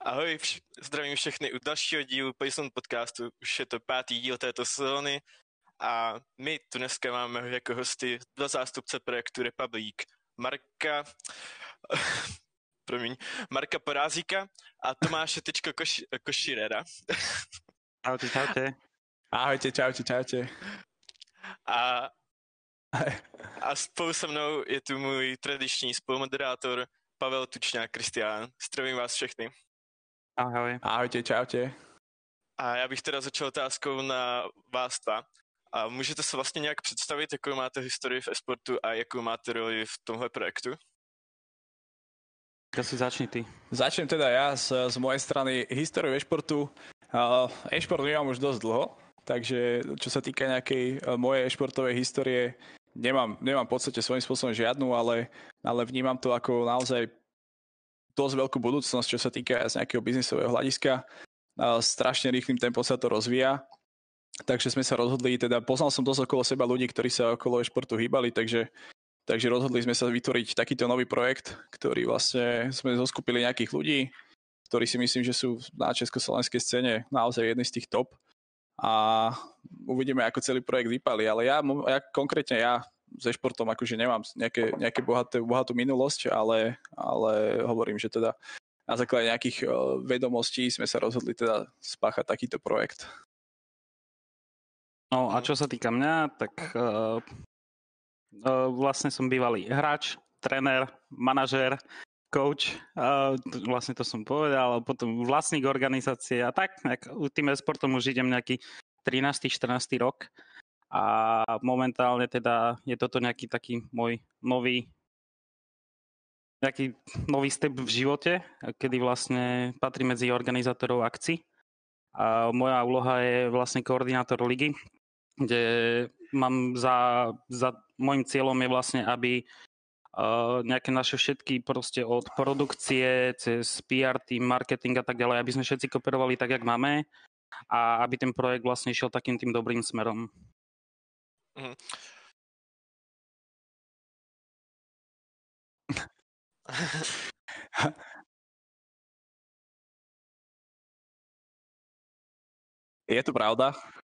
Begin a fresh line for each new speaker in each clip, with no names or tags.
Ahoj, zdravím všechny u dalšího dílu Payson podcastu. Už je to 5. díl této sezóny a my tu dneska máme jako hosty 2 zástupce projektu Republic. Marka Porázíka a Tomáše Koširera.
Čaute.
Ahojte, čaute.
A spolu se mnou je tu můj tradiční spolumoderátor Pavel Tučňák Kristián. Zdravím vás všechny.
Ahoj.
Ahojte, čaute.
A já bych teda začal otázkou na vás dva. A můžete se vlastně nějak představit, jakou máte historii v e-sportu a jakou máte roli v tomhle projektu?
Asi začni ty.
Začnem teda ja z mojej strany históriu e-športu. E-šport nemám už dosť dlho, takže čo sa týka nejakej mojej e-športovej histórie, nemám v podstate svojím spôsobom žiadnu, ale vnímam to ako naozaj dosť veľkú budúcnosť, čo sa týka z nejakého biznisového hľadiska. Strašne rýchlym tempom sa to rozvíja, takže sme sa rozhodli, teda poznal som dosť okolo seba ľudí, ktorí sa okolo e-športu hýbali, takže rozhodli sme sa vytvoriť takýto nový projekt, ktorý vlastne sme zoskupili nejakých ľudí, ktorí si myslím, že sú na československej scéne naozaj jedni z tých top a uvidíme, ako celý projekt vypálí, ale ja konkrétne so športom akože nemám nejaké bohatú minulosť, ale hovorím, že teda na základe nejakých vedomostí sme sa rozhodli teda spáchať takýto projekt.
No a čo sa týka mňa, tak vlastne som bývalý hráč, tréner, manažér, coach, vlastne to som povedal, potom vlastník organizácie a tak, tým e-sportom už idem nejaký 13. 14. rok a momentálne teda je toto nejaký taký môj nový step v živote, kedy vlastne patrí medzi organizátorov akcií a moja úloha je vlastne koordinátor ligy, kde mám za môjim cieľom je vlastne, aby nejaké naše všetky proste od produkcie cez PR team, marketing a tak ďalej, aby sme všetci kopírovali tak, jak máme a aby ten projekt vlastne išiel takým tým dobrým smerom.
Mhm.
Je to pravda.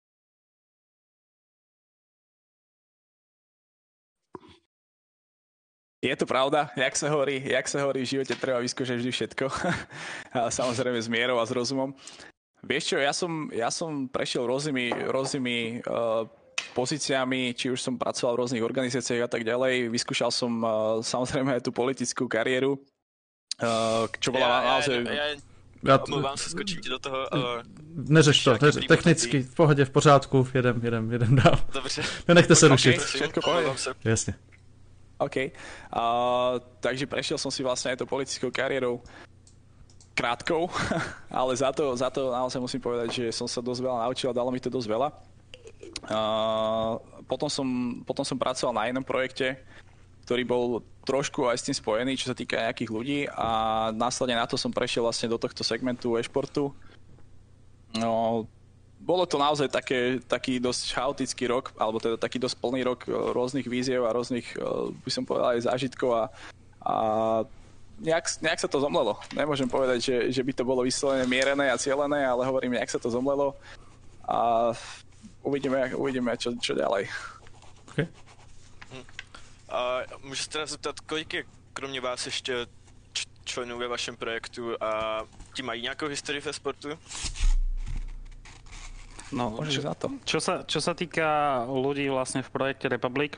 Je to pravda, jak sa hovorí, v živote treba vyskúšať vždy všetko. Samozrejme s mierou a s rozumom. Vieš čo, ja som prešiel rôznymi pozíciami, či už som pracoval v rôznych organizáciách a tak ďalej. Vyskúšal som samozrejme aj tú politickú kariéru, čo bola naozaj...
Omlouvám se, skočím ti do toho.
Neřeš to, technicky, v pohodě, v pořádku, jedem dál.
Dobře.
Nenechte se rušit.
Všetko povie.
Jasne.
OK. Takže prešiel som si vlastne aj tou politickou kariérou krátkou, ale za to naozaj musím povedať, že som sa dosť veľa naučil a dalo mi to dosť veľa. Potom som pracoval na inom projekte, ktorý bol trošku aj s tým spojený, čo sa týka nejakých ľudí a následne na to som prešiel vlastne do tohto segmentu e-športu. No, bolo to naozaj taký dosť chaotický rok, alebo teda taký dosť plný rok rôznych víziev a rôznych, by som povedal, aj zážitkov a nejak sa to zomlelo. Nemôžem povedať, že by to bolo vyslovene mierené a cielené, ale hovorím, nejak sa to zomlelo a uvidíme čo ďalej.
Okay.
A můžu se teda zeptat, kolik je kromě vás ještě členů ve vašem projektu a ti mají nějakou historii ve sportu?
No, čo sa týka ľudí vlastne v projekte Republic,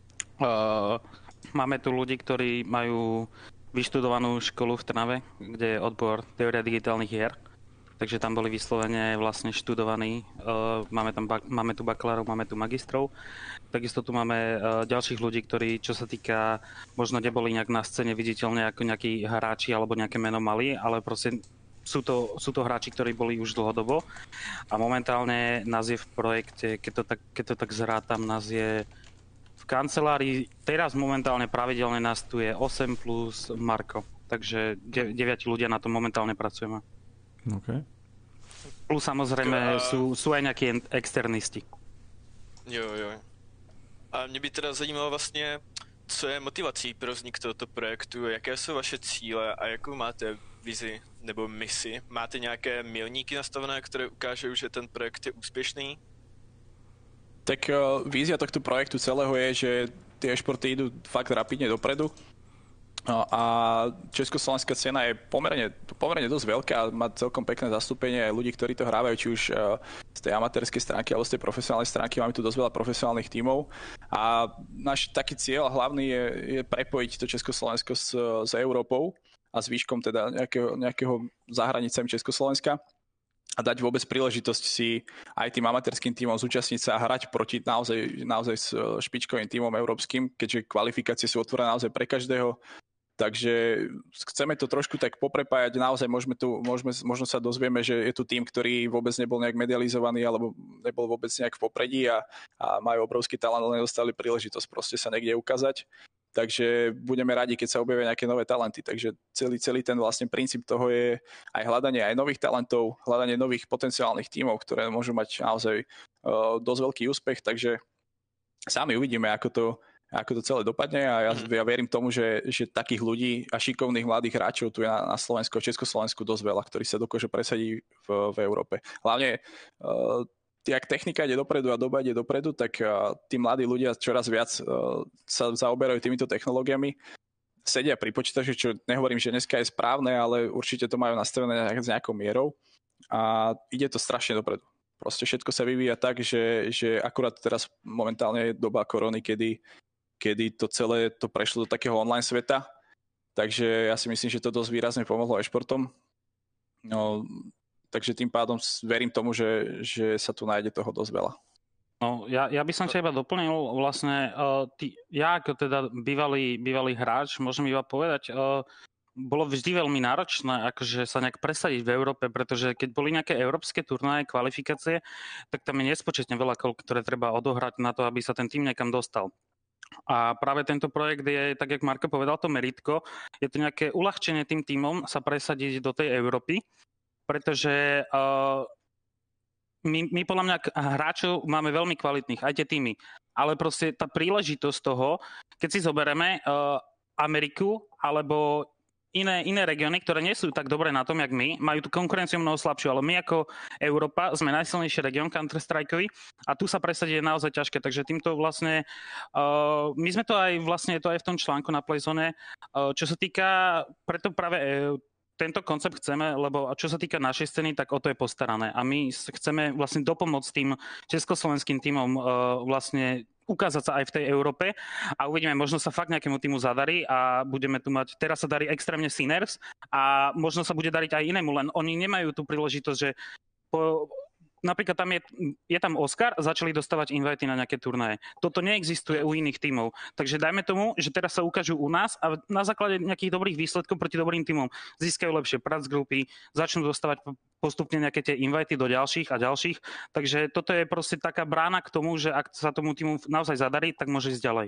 máme tu ľudí, ktorí majú vyštudovanú školu v Trnave, kde je odbor teória digitálnych hier. Takže tam boli vyslovene vlastne študovaní. Máme tu bakalárov, máme tu magistrov. Takisto tu máme ďalších ľudí, ktorí, čo sa týka, možno neboli nejak na scéne viditeľne ako nejakí hráči alebo nejaké meno mali, ale proste sú to hráči, ktorí boli už dlhodobo. A momentálne nás je v projekte, keď to tak zrátam, nás je v kancelárii, teraz momentálne pravidelne nás tu je 8 plus Marko. Takže 9 ľudia na tom momentálne pracujeme.
Okay.
Plus samozrejme sú aj nejakí externisti.
Jo. A mě by teda zajímalo vlastně, co je motivací pro vznik tohoto projektu, jaké jsou vaše cíle a jakou máte vizi nebo misi? Máte nějaké milníky nastavené, které ukážou, že ten projekt je úspěšný?
Tak vízia tohto projektu celého je, že tie e-športy idú fakt rapidne dopredu. A československá scéna je pomerne dosť veľká, má celkom pekné zastúpenie aj ľudí, ktorí to hrávajú, či už z tej amatérskej stránky alebo z tej profesionálnej stránky. Máme tu dosť veľa profesionálnych tímov a náš taký cieľ hlavný je prepojiť to Československo s Európou a s výškom teda nejakého za hranicami Československa a dať vôbec príležitosť si aj tým amatérským tímom zúčastniť sa a hrať proti naozaj s špičkovým tímom európskym, keďže kvalifikácie sú otvorené naozaj pre každého. Takže chceme to trošku tak poprepájať, naozaj možno sa dozvieme, že je tu tým, ktorý vôbec nebol nejak medializovaný alebo nebol vôbec nejak v popredí a majú obrovský talent, ale nedostali príležitosť proste sa niekde ukázať. Takže budeme radi, keď sa objavia nejaké nové talenty. Takže celý ten vlastne princíp toho je aj hľadanie aj nových talentov, hľadanie nových potenciálnych tímov, ktoré môžu mať naozaj dosť veľký úspech. Takže sami uvidíme, ako to celé dopadne a ja verím tomu, že takých ľudí a šikovných mladých hráčov tu je na Slovensku a Československu dosť veľa, ktorí sa dokážu presadiť v Európe. Hlavne jak technika ide dopredu a doba ide dopredu, tak tí mladí ľudia čoraz viac sa zaoberajú týmito technológiami. Sedia pri počítači, čo nehovorím, že dneska je správne, ale určite to majú nastavené s nejakou mierou a ide to strašne dopredu. Proste všetko sa vyvíja tak, že akurát teraz momentálne je doba korony, kedy to celé to prešlo do takého online sveta. Takže ja si myslím, že to dosť výrazne pomohlo e-športom. No, takže tým pádom verím tomu, že sa tu nájde toho dosť veľa.
No, ja by som sa iba doplnil vlastne, ja ako teda bývalý hráč, môžem iba povedať, bolo vždy veľmi náročné akože sa nejak presadiť v Európe, pretože keď boli nejaké európske turnaje, kvalifikácie, tak tam je nespočetne veľa kol, ktoré treba odohrať na to, aby sa ten tým niekam dostal. A práve tento projekt je, tak jak Marko povedal, to meritko, je to nejaké uľahčenie tým tímom sa presadiť do tej Európy, pretože my podľa mňa hráčov máme veľmi kvalitných, aj tie týmy, ale proste tá príležitosť toho, keď si zoberieme Ameriku alebo iné regióny, ktoré nie sú tak dobré na tom, jak my, majú tú konkurenciu mnoho slabšiu, ale my ako Európa sme najsilnejší región Counter-Strikeový a tu sa presadiť je naozaj ťažké, takže týmto vlastne, my sme to aj vlastne, to aj v tom článku na Playzone, čo sa týka, preto práve tento koncept chceme, lebo čo sa týka našej scény, tak o to je postarané a my chceme vlastne dopomôcť tým československým tímom vlastne ukázať sa aj v tej Európe a uvidíme, možno sa fakt nejakému týmu zadarí a budeme tu mať, teraz sa darí extrémne Sinners a možno sa bude dariť aj inému, len oni nemajú tú príležitosť, že napríklad tam je tam Oscar, začali dostávať invity na nejaké turnaje. Toto neexistuje u iných tímov. Takže dajme tomu, že teraz sa ukážu u nás a na základe nejakých dobrých výsledkov proti dobrým tímom získajú lepšie pracgrupy, začnú dostávať postupne nejaké tie invity do ďalších a ďalších. Takže toto je proste taká brána k tomu, že ak sa tomu tímu naozaj zadarí, tak môže ísť ďalej.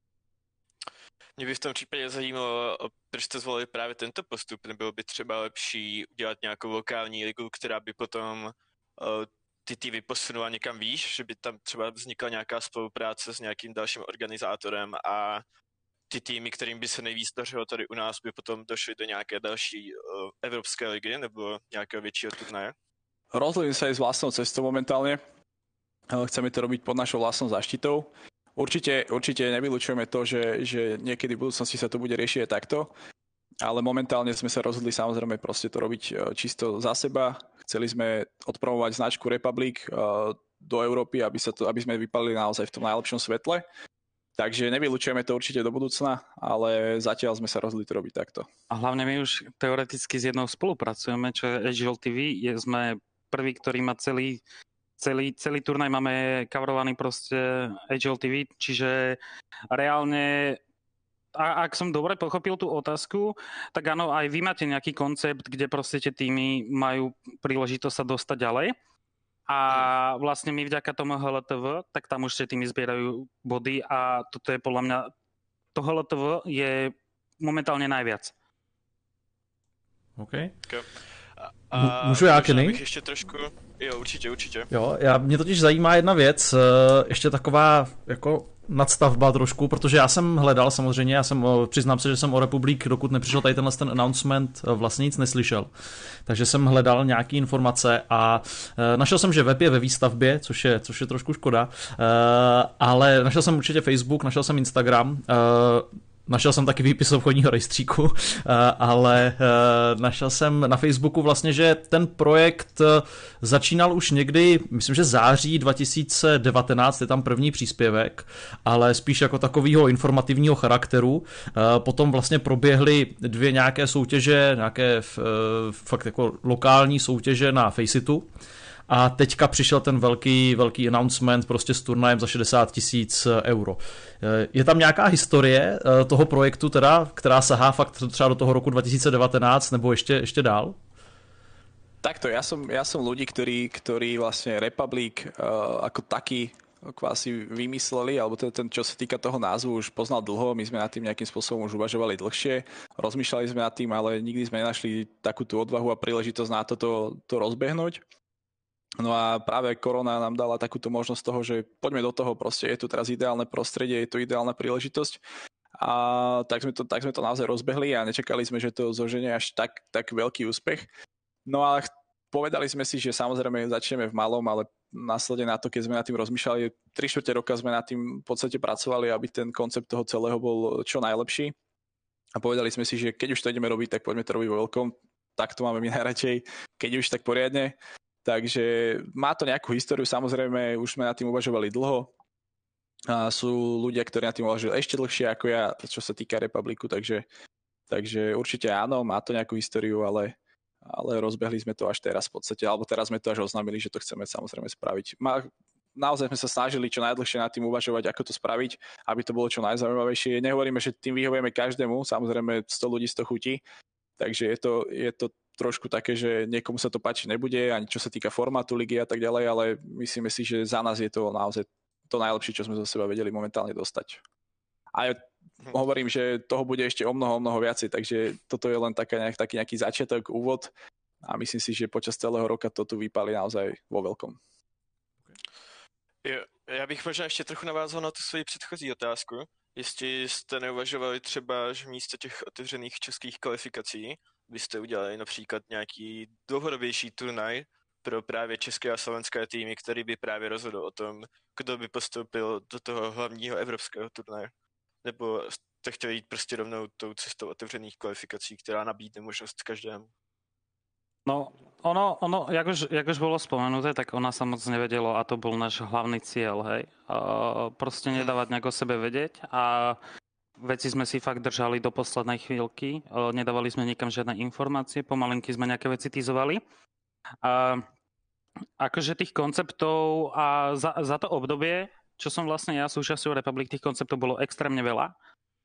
Mě by v tom případě zajímalo, proč jste zvolili právě tento postup. Nebylo by třeba lepší udělat nějakou lokální ligu, která by potom ty týmy posunula někam výš, že by tam třeba vznikla nějaká spolupráce s nějakým dalším organizátorem a ty týmy, kterým by se nejvíc dařilo tady u nás, by potom došly do nějaké další evropské ligy nebo nějakého většího turnaje?
Rozhodli sa aj s vlastnou cestou momentálne. Chceme to robiť pod našou vlastnou záštitou. Určite nevylučujeme to, že niekedy v budúcnosti sa to bude riešiť takto, ale momentálne sme sa rozhodli samozrejme proste to robiť čisto za seba. Chceli sme odpromovať značku Republic do Európy, aby sme vypadli naozaj v tom najlepšom svetle. Takže nevylučujeme to určite do budúcna, ale zatiaľ sme sa rozhodli to robiť takto. A
hlavne my už teoreticky s jednou spolupracujeme, čo je HL TV. Sme prvý, ktorý má celý turnaj máme coverovaný proste HL TV, čiže reálne, ak som dobre pochopil tú otázku, tak áno, aj vy máte nejaký koncept, kde proste tie týmy majú príležitosť sa dostať ďalej a vlastne my vďaka tomu HLTV, tak tam už tie týmy zbierajú body a toto je podľa mňa, to HLTV je momentálne najviac.
OK.
A
můžu já, Kenny?
Ještě trošku, jo, určitě.
Jo, mě totiž zajímá jedna věc, ještě taková jako nadstavba trošku, protože já jsem hledal samozřejmě, přiznám se, že jsem o Republic, dokud nepřišel tady ten announcement, vlastně nic neslyšel. Takže jsem hledal nějaké informace a našel jsem, že web je ve výstavbě, což je trošku škoda, ale našel jsem určitě Facebook, našel jsem Instagram, našel jsem taky výpis obchodního rejstříku, ale našel jsem na Facebooku vlastně, že ten projekt začínal už někdy, myslím, že září 2019, je tam první příspěvek, ale spíš jako takového informativního charakteru. Potom vlastně proběhly 2 nějaké soutěže, nějaké fakt jako lokální soutěže na Faceitu. A teďka přišel ten velký announcement prostě s turnajem za 60 000 euro. Je tam nějaká historie toho projektu teda, která sahá fakt třeba do toho roku 2019 nebo ještě dál?
Takto, ja som ľudí, ktorí vlastne Republic ako taký kvási vymysleli, alebo ten, čo sa týka toho názvu, už poznal dlho, my sme nad tým nejakým spôsobom už uvažovali dlhšie, rozmýšľali sme nad tým, ale nikdy sme nenašli takú tú odvahu a príležitosť na to rozbehnúť. No a práve korona nám dala takúto možnosť toho, že poďme do toho, proste je tu teraz ideálne prostredie, je tu ideálna príležitosť a tak sme to naozaj rozbehli a nečakali sme, že to zoženie až tak veľký úspech. No a povedali sme si, že samozrejme začneme v malom, ale následne na to, keď sme nad tým rozmýšľali, 3/4 roka sme nad tým v podstate pracovali, aby ten koncept toho celého bol čo najlepší. A povedali sme si, že keď už to ideme robiť, tak poďme to robiť vo veľkom. Tak to máme my najradšej, keď už tak poriadne. Takže má to nejakú históriu, samozrejme, už sme nad tým uvažovali dlho. A sú ľudia, ktorí nad tým uvažujú ešte dlhšie ako ja, čo sa týka Republiku, takže určite áno, má to nejakú históriu, ale rozbehli sme to až teraz v podstate, alebo teraz sme to až oznámili, že to chceme samozrejme spraviť. Naozaj sme sa snažili čo najdlhšie nad tým uvažovať, ako to spraviť, aby to bolo čo najzaujímavejšie. Nehovoríme, že tým vyhovujeme každému, samozrejme 100 ľudí 100 chutí, takže je to trošku také, že niekomu sa to páčiť nebude, ani čo sa týka formátu ligy a tak ďalej, ale myslíme si, že za nás je to naozaj to najlepšie, čo sme zo seba vedeli momentálne dostať. A hovorím, že toho bude ešte o mnoho viacej, takže toto je len taký nejaký začiatok, úvod a myslím si, že počas celého roka to tu vypálí naozaj vo veľkom.
Já bych možná ještě trochu navázal na tu svoji předchozí otázku. Jestli jste neuvažovali třeba, že místo těch otevřených českých kvalifikací byste udělali například nějaký dlouhodobější turnaj pro právě české a slovenské týmy, který by právě rozhodl o tom, kdo by postoupil do toho hlavního evropského turnaje. Nebo jste chtěli jít prostě rovnou tou cestou otevřených kvalifikací, která nabídne možnost každému?
No, ono, jak už bolo spomenuté, tak ona sa moc nevedelo a to bol náš hlavný cieľ, hej. Proste nedávať nejako sebe vedieť a veci sme si fakt držali do poslednej chvíľky. Nedávali sme nikam žiadne informácie, pomalinky sme nejaké veci tizovali. Akože tých konceptov a za to obdobie, čo som vlastne ja súčasťou Republic, tých konceptov bolo extrémne veľa.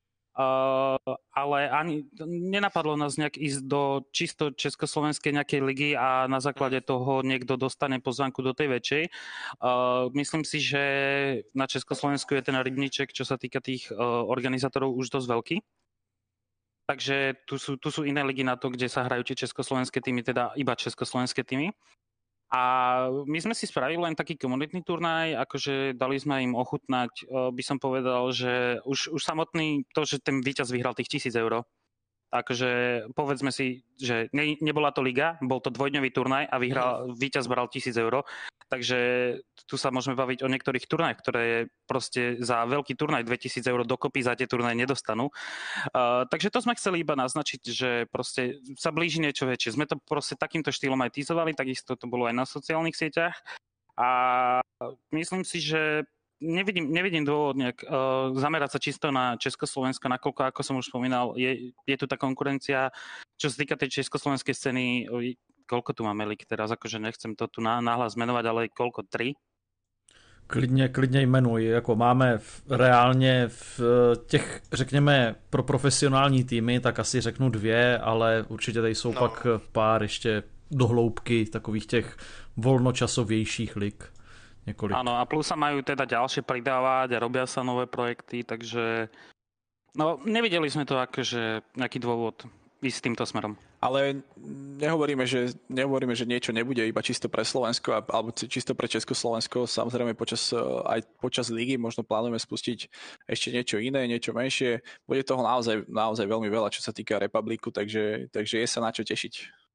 Ale ani nenapadlo nás nejak ísť do čisto československej nejakej ligy a na základe toho niekto dostane pozvánku do tej väčšej. Myslím si, že na Československu je ten rybníček, čo sa týka tých organizátorov, už dosť veľký. Takže tu sú iné ligy na to, kde sa hrajú tie československé týmy, teda iba československé týmy. A my sme si spravili len taký komunitný turnaj, akože dali sme im ochutnať, by som povedal, že už samotný to, že ten víťaz vyhral tých 1000 eur. Takže povedzme si, že nebola to liga, bol to dvojdňový turnaj a víťaz bral 1000 eur. Takže tu sa môžeme baviť o niektorých turnajoch, ktoré proste za veľký turnaj 2000 eur dokopy za tie turnaje nedostanú. Takže to sme chceli iba naznačiť, že proste sa blíži niečo väčšie. Sme to proste takýmto štýlom aj teasovali, takisto to bolo aj na sociálnych sieťach. A myslím si, že nevidím dôvod nejak zamerať sa čisto na Československo, nakoľko, ako som už spomínal, je tu tá konkurencia. Čo sa týka tej československej scény, koľko tu máme lig teraz, akože nechcem to tu náhlas menovať, ale koľko, 3?
Klidně jmenuj, jako máme reálně v těch, řekněme, pro profesionální týmy, tak asi řeknu 2, ale určitě tady jsou pak pár ještě dohloubky takových těch volnočasovějších lig. Několik.
Áno, a plus sa majú teda ďalšie pridávať a robia sa nové projekty, takže no nevideli sme to akože nejaký dôvod ísť týmto smerom.
Ale nehovoríme, že niečo nebude iba čisto pre Slovensko alebo čisto pre Československo. Samozrejme aj počas ligy možno plánujeme spustiť ešte niečo iné, niečo menšie. Bude toho naozaj veľmi veľa, čo sa týka republiku, takže je sa na čo tešiť.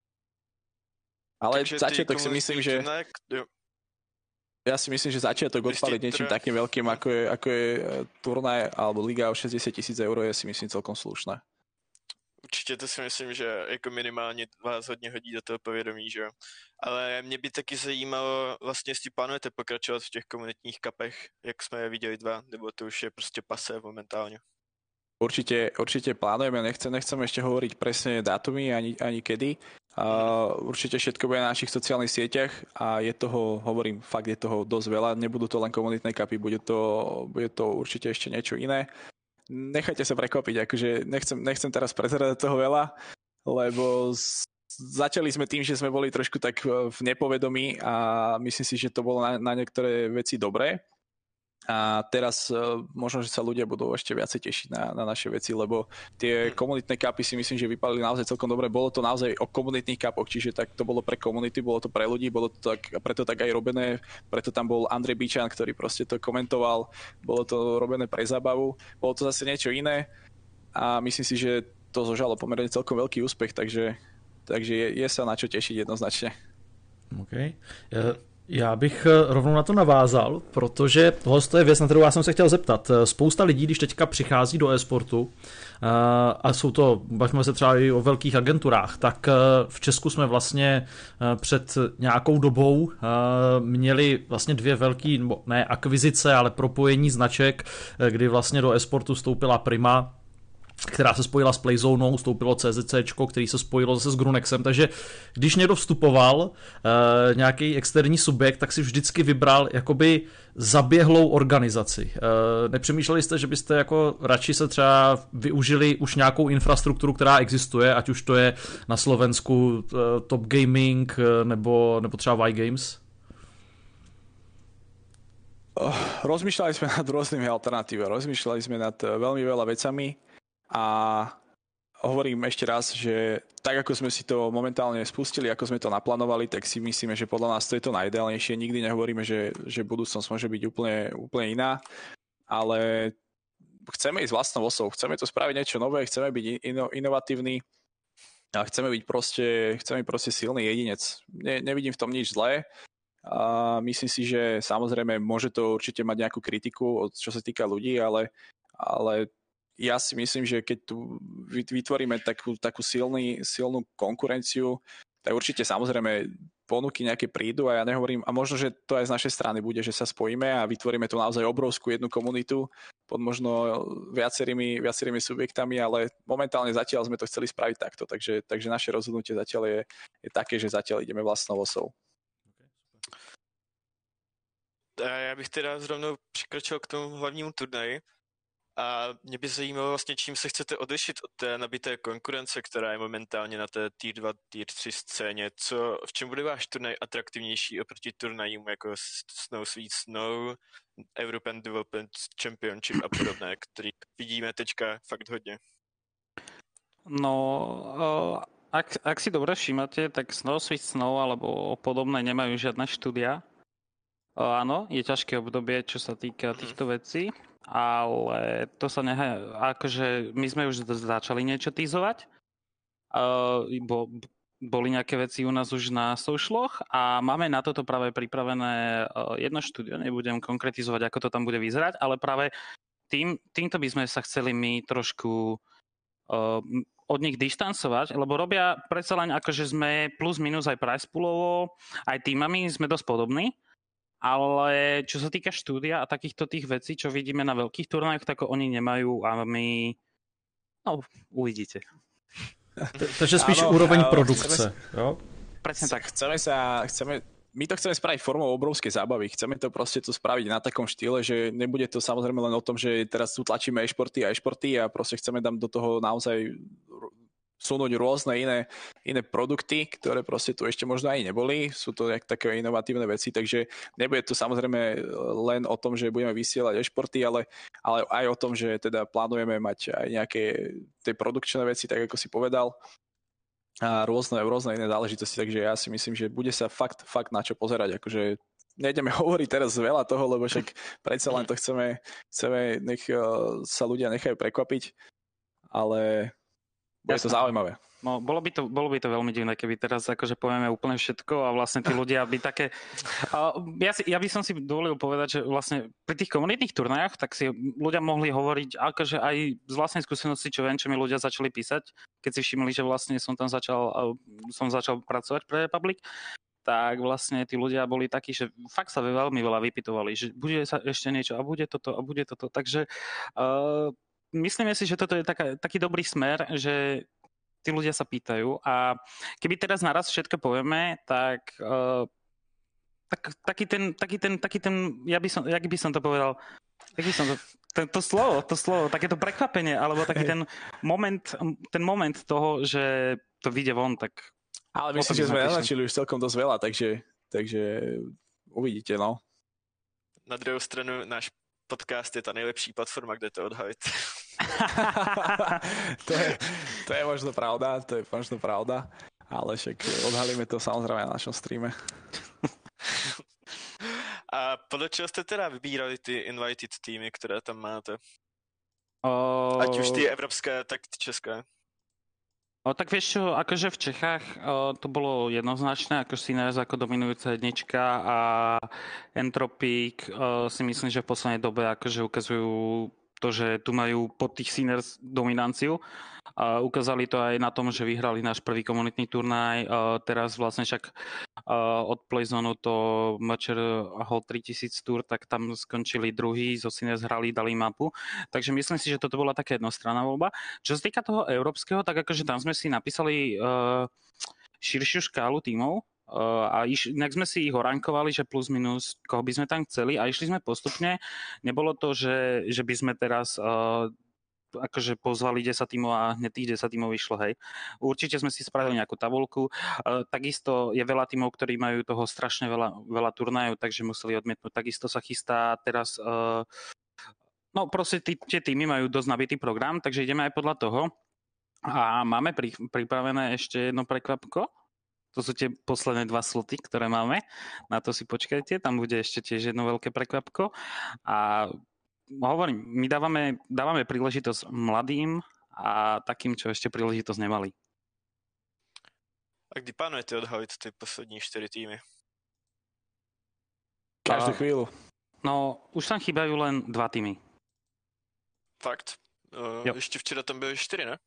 Ale začiatok si myslím, že... Ja si myslím, že začiatok odpaliť niečím takým veľkým, ako je turnaj alebo liga o 60 000 eur, je si myslím celkom slušné.
Určitě to si myslím, že jako minimálně vás hodně hodí do toho povědomí, že jo. Ale mě by taky zajímalo, vlastně jestli plánujete pokračovat v těch komunitních kapech, jak jsme je viděli 2, nebo to už je prostě pasé momentálně.
Určite plánujeme, nechcem ešte hovoriť presne dátumy ani kedy. Určite všetko bude na našich sociálnych sieťach a je toho dosť veľa. Nebudú to len komunitné kapy, bude to určite ešte niečo iné. Nechajte sa prekvapiť, akože nechcem teraz prezerať toho veľa, lebo začali sme tým, že sme boli trošku tak v nepovedomí a myslím si, že to bolo na niektoré veci dobré. A teraz možno, že sa ľudia budú ešte viacej tešiť na naše veci, lebo tie komunitné kapy si myslím, že vypadali naozaj celkom dobre. Bolo to naozaj o komunitných kapoch, čiže tak to bolo pre komunity, bolo to pre ľudí, bolo to tak, preto tak aj robené, preto tam bol Andrej Bičan, ktorý proste to komentoval, bolo to robené pre zábavu, bolo to zase niečo iné a myslím si, že to zožalo pomerne celkom veľký úspech, takže je sa na čo tešiť jednoznačne.
OK. Já bych rovnou na to navázal, protože tohle je věc, na kterou já jsem se chtěl zeptat. Spousta lidí, když teďka přichází do e-sportu, a jsou to, bavíme se třeba i o velkých agenturách, tak v Česku jsme vlastně před nějakou dobou měli vlastně 2 velký, ne akvizice, ale propojení značek, kdy vlastně do e-sportu vstoupila Prima, která se spojila s Playzonou, vstoupilo CZCčko, který se spojilo zase s Grunexem, takže když někdo vstupoval, nějaký externí subjekt, tak si vždycky vybral jakoby zaběhlou organizaci. Nepřemýšleli jste, že byste jako radši se třeba využili už nějakou infrastrukturu, která existuje, ať už to je na Slovensku Top Gaming nebo třeba Y-Games?
Rozmýšľali sme nad rôznymi alternatívami, rozmýšľali sme nad veľmi veľa vecami. A hovorím ešte raz, že tak ako sme si to momentálne spustili, ako sme to naplánovali, tak si myslíme, že podľa nás to je to najideálnejšie. Nikdy nehovoríme, že budúcnosť môže byť úplne iná, ale chceme ísť vlastnou osou, chceme to spraviť niečo nové, chceme byť inovatívni a chceme byť proste silný jedinec. Nevidím v tom nič zlé a myslím si, že samozrejme môže to určite mať nejakú kritiku, čo sa týka ľudí, ale ja si myslím, že keď tu vytvoríme takú silnú konkurenciu, tak určite samozrejme ponuky nejaké prídu a ja nehovorím, a možno, že to aj z našej strany bude, že sa spojíme a vytvoríme tu naozaj obrovskú jednu komunitu pod možno viacerými subjektami, ale momentálne zatiaľ sme to chceli spraviť takto, takže naše rozhodnutie zatiaľ je také, že zatiaľ ideme vlastnou osou.
Já bych teda zrovna přikročil k tomu hlavnímu turnaji. A mě by zajímalo vlastně, čím se chcete odlišit od té nabité konkurence, která je momentálně na té Tier 2, Tier 3 scéně. V čem bude váš turnaj atraktivnější oproti turnajům jako Snow Sweet Snow, European Development Championship a podobné, který vidíme teďka fakt hodně?
No, ak si dobre všímate, tak Snow Sweet Snow alebo podobné nemajú žiadne štúdia. Áno, je ťažké obdobie, čo sa týka týchto vecí, ale to sa akože my sme už začali niečo týzovať. Boli nejaké veci u nás už na socialoch a máme na toto práve pripravené jedno štúdio, nebudem konkretizovať, ako to tam bude vyzerať, ale práve týmto by sme sa chceli my trošku od nich dištancovať, lebo robia predsa len akože sme plus minus aj price poolovo, aj týmami sme dosť podobní. Ale čo sa týka štúdia a takýchto tých vecí, čo vidíme na veľkých turnajoch, tak oni nemajú a my... No, uvidíte.
Takže spíš úroveň produkce, jo?
Presne tak.
My to chceme spraviť formou obrovskej zábavy. Chceme to proste tu spraviť na takom štýle, že nebude to samozrejme len o tom, že teraz tu tlačíme e-športy a proste chceme tam do toho naozaj sunúť rôzne iné produkty, ktoré proste tu ešte možno aj neboli. Sú to také inovatívne veci, takže nebude to samozrejme len o tom, že budeme vysielať e-športy, ale aj o tom, že teda plánujeme mať aj nejaké tie produkčné veci, tak ako si povedal, a rôzne iné záležitosti, takže ja si myslím, že bude sa fakt na čo pozerať, akože nejdeme hovoriť teraz veľa toho, lebo však predsa len to chceme nech sa ľudia nechajú prekvapiť, ale bude to zaujímavé.
No, bolo by to veľmi divné, keby teraz akože povieme úplne všetko a vlastne tí ľudia by také... Ja by som si dovolil povedať, že vlastne pri tých komunitných turnajách tak si ľudia mohli hovoriť akože aj z vlastnej skúsenosti, čo viem, čo mi ľudia začali písať, keď si všimli, že vlastne som začal pracovať pre Republic, tak vlastne tí ľudia boli takí, že fakt sa veľmi veľa vypytovali, že bude sa ešte niečo a bude toto. Takže myslíme si, že toto je taký dobrý smer, že tí ľudia sa pýtajú a keby teraz naraz všetko povieme, tak taký ten, jak by som to povedal, to slovo, takéto prekvapenie, alebo taký ten moment toho, že to vyjde von, tak...
Ale myslím, že sme naznačili už celkom dosť veľa, takže uvidíte, no.
Na druhou stranu náš podcast je ta nejlepší platforma, kde to odhalit.
to je možno pravda, ale však odhalíme to samozrejme na našom streame.
A podle čeho jste teda vybírali ty invited týmy, které tam máte? Ať už ty evropské, tak ty české.
Tak vieš čo, akože v Čechách to bolo jednoznačné, ako Sinners ako dominujúca jednička a Entropic si myslím, že v poslednej dobe akože ukazujú to, že tu majú pod tých Sinners dominanciu. Ukázali to aj na tom, že vyhrali náš prvý komunitný turnaj. Teraz vlastne však od Playzonu to Matcher Hall 3000 Tour, tak tam skončili druhý, zo Sinners hrali, dali mapu. Takže myslím si, že toto bola taká jednostranná voľba. Čo sa týka toho európskeho, tak akože tam sme si napísali širšiu škálu tímov a inak sme si ich orankovali, že plus minus, koho by sme tam chceli a išli sme postupne. Nebolo to, že by sme teraz akože pozvali 10 tímov a hneď tých 10 tímov vyšlo, hej. Určite sme si spravili nejakú tabuľku. Takisto je veľa tímov, ktorí majú toho strašne veľa turnajov, takže museli odmietnúť. Takisto sa chystá teraz... No proste tie tímy majú dosť nabitý program, takže ideme aj podľa toho. A máme pripravené ešte jedno prekvapko. To sú tie posledné 2 sloty, ktoré máme. Na to si počkajte, tam bude ešte tiež jedno veľké prekvapko. A hovorím, my dávame príležitosť mladým a takým, čo ešte príležitosť nemali.
A kdy plánujete odhalit ty poslední 4 týmy?
Každú chvíľu.
No, už tam chýbajú len 2 týmy.
Fakt? Ještě včera tam byly 4, ne?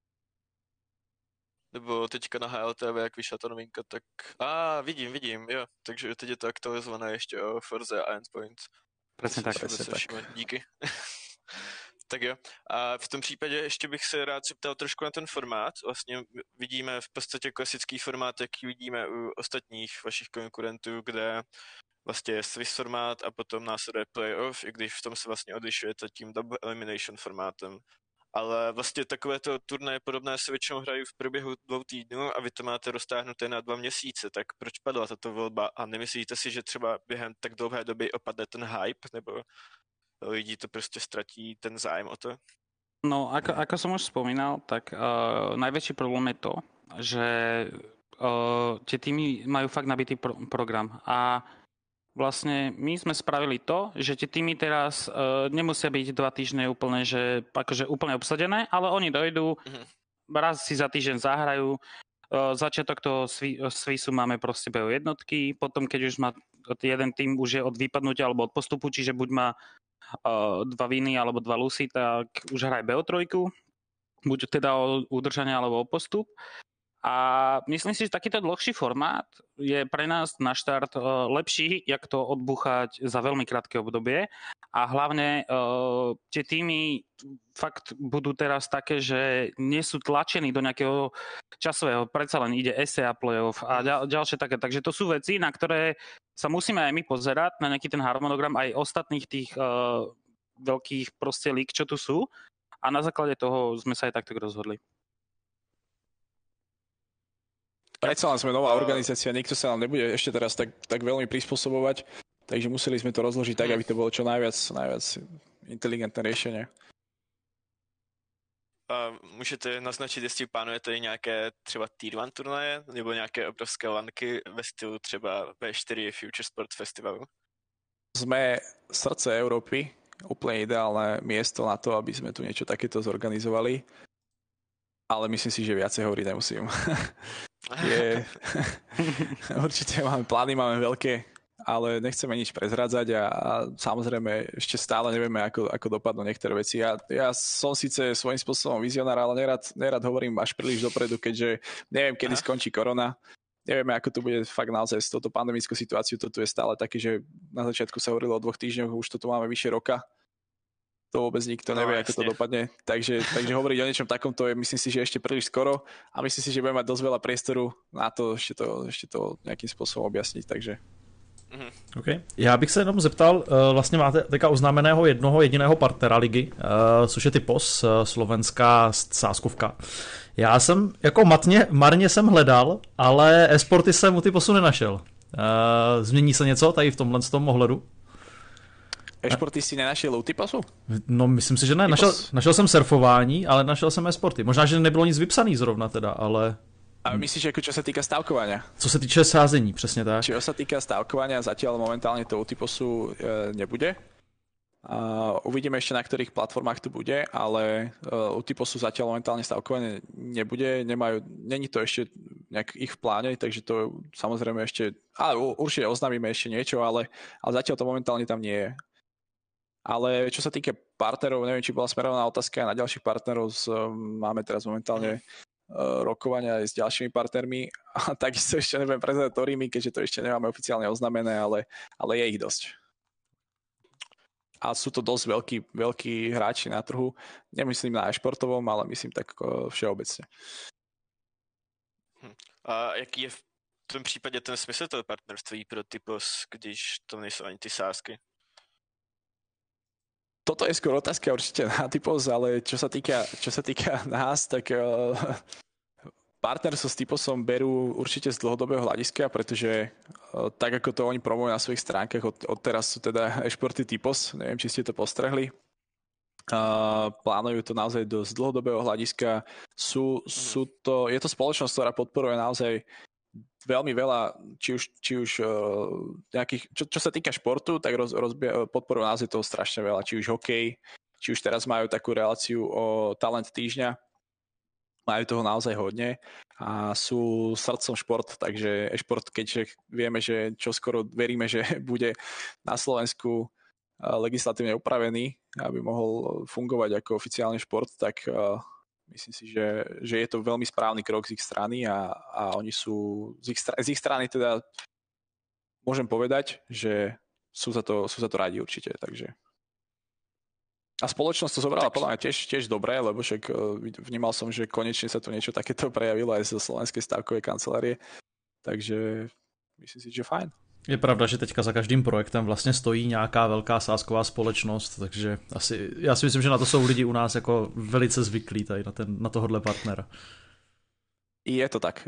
Nebo teďka na HLTV, jak vyšla ta novinka, tak... vidím, jo. Takže teď je to aktualizované ještě o Forze a Endpoint.
Presne tak.
Díky. Tak jo. A v tom případě ještě bych se rád zeptal trošku na ten formát. Vlastně vidíme v podstatě klasický formát, jaký vidíme u ostatních vašich konkurentů, kde vlastně je Swiss formát a potom následuje playoff, i když v tom se vlastně odlišujete tím double elimination formátem. Ale vlastně takovéto turnaje podobné se většinou hrají v průběhu 2 týdnů a vy to máte roztáhnuté na 2 měsíce, tak proč padla tato volba a nemyslíte si, že třeba během tak dlouhé doby opadne ten hype, nebo lidi to prostě ztratí ten zájem o to?
No, ako som už spomínal, tak najväčší problém je to, že tie týmy majú fakt nabitý program a vlastne my sme spravili to, že tie týmy teraz nemusia byť 2 týždne úplne, že akože úplne obsadené, ale oni dojdú, raz si za týždeň zahrajú, začiatok toho Swissu máme proste BO jednotky, potom keď už má jeden tým už je od vypadnutia alebo od postupu, čiže buď má 2 viny alebo 2 lusy, tak už hraje BO3, buď teda o udržanie alebo o postup. A myslím si, že takýto dlhší formát je pre nás na štart lepší, jak to odbuchať za veľmi krátke obdobie. A hlavne tie týmy fakt budú teraz také, že nie sú tlačení do nejakého časového, predsa len ide SEA playoff a ďalšie také. Takže to sú veci, na ktoré sa musíme aj my pozerať, na nejaký ten harmonogram aj ostatných tých veľkých proste lík, čo tu sú. A na základe toho sme sa aj takto rozhodli.
predsa len sme nová organizácia, nikto sa nám nebude ešte teraz tak veľmi prispôsobovať, takže museli sme to rozložiť tak, aby to bolo čo najviac inteligentné riešenie.
Můžete naznačit, jestli plánujete nějaké třeba Tier 1 turnaje nebo nějaké obrovské lanky ve stylu třeba V4 Future Sport Festivalu?
Sme srdce Európy, úplne ideálne miesto na to, aby sme tu niečo takéto zorganizovali, ale myslím si, že viacej hovoriť nemusím. Určite máme plány, máme veľké, ale nechceme nič prezradzať a samozrejme ešte stále nevieme, ako dopadnú niektoré veci. Ja som síce svojím spôsobom vizionár, ale nerad hovorím až príliš dopredu, keďže neviem, kedy skončí korona. Nevieme, ako to bude fakt naozaj s touto pandemickou situáciou. To tu je stále také, že na začiatku sa hovorilo o 2 týždňoch, už to tu máme vyše roka. To vôbec nikto nevie, ako to dopadne. Takže hovoriť o niečom takomto je, myslím si, že ešte príliš skoro a myslím si, že budeme mať dosť veľa priestoru na to ešte to nejakým spôsobom objasniť. Takže
Okay. Já bych se jenom zeptal, vlastně máte teďka oznámeného jednoho jediného partnera ligy, což je Typos, slovenská sázkovka. Já jsem jako marně jsem hledal, ale e-sporty jsem u Typosu nenašel. Změní se něco tady v tomhle tom ohledu?
E-sporty si nenašel u Typosu?
No myslím si, že ne. Našel jsem surfování, ale našel jsem e-sporty. Možná, že nebylo nic vypsaný zrovna teda, ale...
A myslíš, ako čo sa týka stavkovania?
Co se týče sázení, přesně tak.
Čo sa týka stavkovania, zatiaľ momentálne to u Typosu nebude. Uvidíme ešte, na ktorých platformách to bude, ale u Typosu zatiaľ momentálne stavkovanie nebude. Není to ešte nejak ich v pláne, takže to samozrejme ešte... Ale určite oznámime ešte niečo, ale zatiaľ to momentálne tam nie je. Ale čo sa týka partnerov, neviem, či bola smerovaná otázka na ďalších partnerov. Máme teraz momentálne rokovania aj s ďalšími partnermi a takisto ešte neviem prezrieť ktorými, keďže to ešte nemáme oficiálne oznámené, ale je ich dosť. A sú to dosť veľkí hráči na trhu. Nemyslím na e-športovom, ale myslím tak všeobecne.
A jaký je v tom případě ten smysl toho partnerství pro Typos, když to nejsou ani ty sázky?
Toto je skôr otázka určite na Typos, ale čo sa týka nás, tak partnerstvo s Typosom berú určite z dlhodobého hľadiska, pretože tak ako to oni promujú na svojich stránkach, odteraz sú teda e-športy Typos, neviem, či ste to postrehli. Plánujú to naozaj z dlhodobého hľadiska. Je to spoločnosť, ktorá podporuje naozaj veľmi veľa, či už nejakých, čo sa týka športu, tak podporujú naozaj toho strašne veľa, či už hokej, či už teraz majú takú reláciu o talent týždňa, majú toho naozaj hodne a sú srdcom šport, takže e-šport, keďže vieme, že čoskoro veríme, že bude na Slovensku legislatívne upravený, aby mohol fungovať ako oficiálny šport, tak myslím si, že je to veľmi správny krok z ich strany a oni sú z ich strany teda môžem povedať, že sú za to radi určite, takže. A spoločnosť to zobrala podľa mňa tiež dobré, lebo však vnímal som, že konečne sa tu niečo takéto prejavilo aj zo slovenskej stavkovej kancelárie, takže myslím si, že fajn.
Je pravda, že teďka za každým projektem vlastně stojí nějaká velká sázková společnost, takže já si myslím, že na to jsou lidi u nás jako velice zvyklí tady na tohohle partnera.
Je to tak.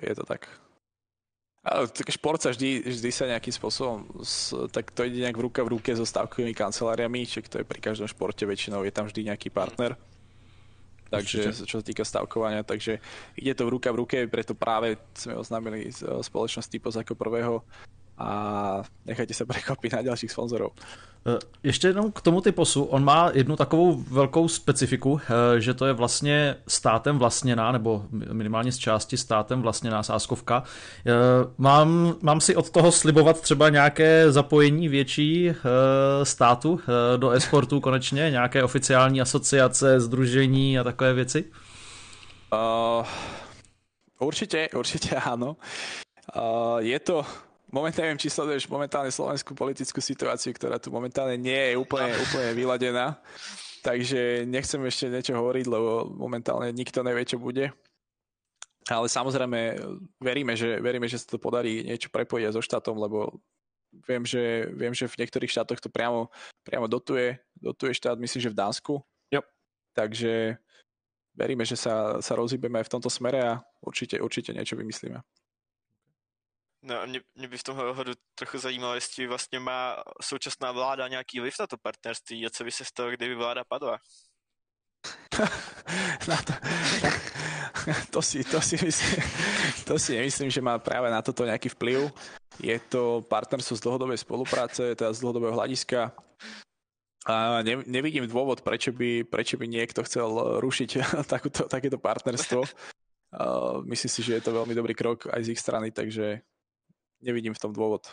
Ale šport sa vždy sa nejakým spôsobom, tak to ide nejak v ruke so stavkovými kanceláriami, čiže to je pri každom športe väčšinou, je tam vždy nejaký partner. Takže čo sa týka stavkovania, takže ide to v ruke, preto práve sme oznámili spoločnosť Typos ako prvého a nechajte se překvapit na dalších sponzorů.
Ještě jenom k tomu Typosu, on má jednu takovou velkou specifiku, že to je vlastně státem vlastněná, nebo minimálně z části státem vlastněná sázkovka. Mám si od toho slibovat třeba nějaké zapojení větší státu do e-sportu konečně, nějaké oficiální asociace, sdružení a takové věci?
Určite áno. Je to... Momentálne neviem, či sleduješ momentálne slovenskú politickú situáciu, ktorá tu momentálne nie je úplne vyladená. Takže nechcem ešte niečo hovoriť, lebo momentálne nikto nevie, čo bude. Ale samozrejme veríme, že sa to podarí niečo prepojiť so štátom, lebo viem, že v niektorých štátoch to priamo dotuje štát, myslím, že v Dánsku.
Jo.
No a mě by v tomhle ohledu trochu zajímalo, jestli vlastně má současná vláda nějaký vliv na to partnerství a co by se stalo, kdyby vláda padla.
To si nemyslím, že má práve na toto nejaký vplyv. Je to partnerstvo z dlhodobej spolupráce, teda z dlhodobého hľadiska. A nevidím dôvod, prečo by niekto chcel rušiť takéto partnerstvo. Myslím si, že je to veľmi dobrý krok aj z ich strany, takže nevidím v tom dôvod.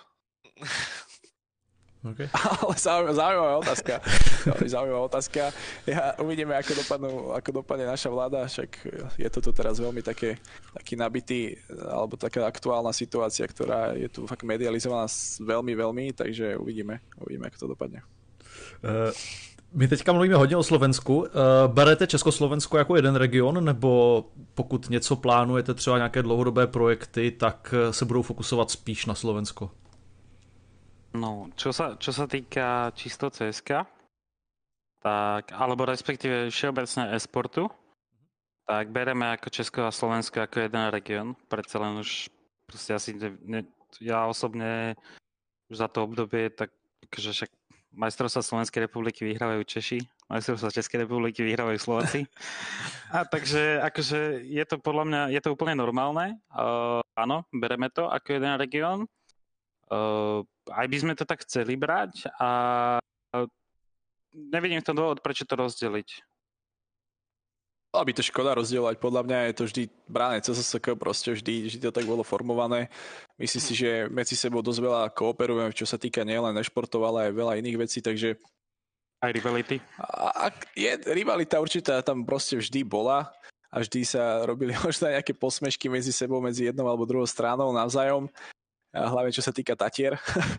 Okay.
Ale zaujímavá otázka. Ja uvidíme, ako dopadne naša vláda, však je to tu teraz veľmi taký nabitý, alebo taká aktuálna situácia, ktorá je tu fakt medializovaná veľmi, takže uvidíme, ako to dopadne.
My teďka mluvíme hodně o Slovensku. Berete Československo jako jeden region, nebo pokud něco plánujete, třeba nějaké dlouhodobé projekty, tak se budou fokusovat spíš na Slovensko?
No, čo sa týka čisto CSK, tak, alebo respektíve všeobecne e-sportu, tak bereme ako Česko a Slovensko ako jeden región. Predsa len už proste asi ja osobne už za to obdobie, tak akože však majstrovstvá Slovenskej republiky vyhrávajú Češi, majstrovstvá Českej republiky vyhrávajú Slováci. A takže akože je to podľa mňa, je to úplne normálne. Áno, bereme to ako jeden región. Aj by sme to tak chceli brať a nevidím v tom dôvod, prečo to rozdeliť.
Bola by to škoda rozdielovať, podľa mňa je to vždy bráne CSSK, proste vždy to tak bolo formované. Myslím si, že medzi sebou dosť veľa kooperujeme, čo sa týka nielen športov, ale aj veľa iných vecí, takže...
Aj rivality?
Rivalita určite tam proste vždy bola a vždy sa robili možno nejaké posmešky medzi sebou, medzi jednou alebo druhou stranou navzájom. A hlavne čo sa týka Tatier.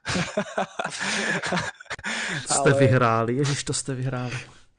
Jste vyhráli, ježiš, to ste vyhráli.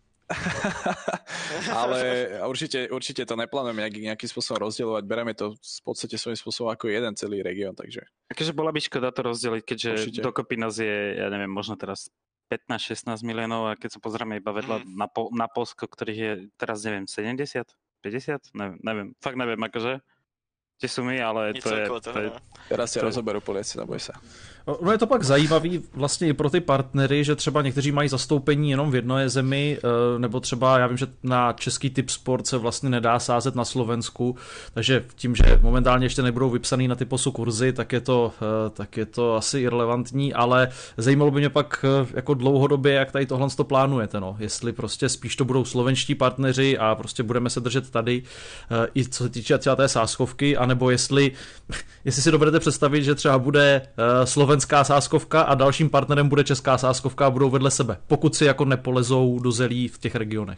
Ale určite to neplánujeme nejakým spôsobom rozdielovať. Bereme to v podstate svojím spôsobom ako jeden celý región, takže...
Takže bola by škoda to rozdeliť, keďže určite. Dokopy nás je, ja neviem, možno teraz 15-16 miliónov a keď sa pozrieme iba vedľa na Polsko, ktorých je teraz, neviem, 70? 50? Neviem, fakt neviem, akože tie sumy, ale to je...
Teraz se rozoberou Poliaci, neboj se.
No je to pak zajímavý vlastně i pro ty partnery, že třeba někteří mají zastoupení jenom v jedné zemi, nebo třeba já vím, že na český typ sport se vlastně nedá sázet na Slovensku, takže tím, že momentálně ještě nebudou vypsaný na typosu kurzy, tak je to asi irrelevantní, ale zajímalo by mě pak jako dlouhodobě, jak tady tohle to plánujete, no. Jestli prostě spíš to budou slovenští partneři a prostě budeme se držet tady, i co se týče třeba té sázkovky, anebo jestli si dovedete představit, že třeba bude slovenská sázkovka a dalším partnerem bude česká sázkovka a budou vedle sebe, pokud si jako nepolezou do zelí v těch regionech.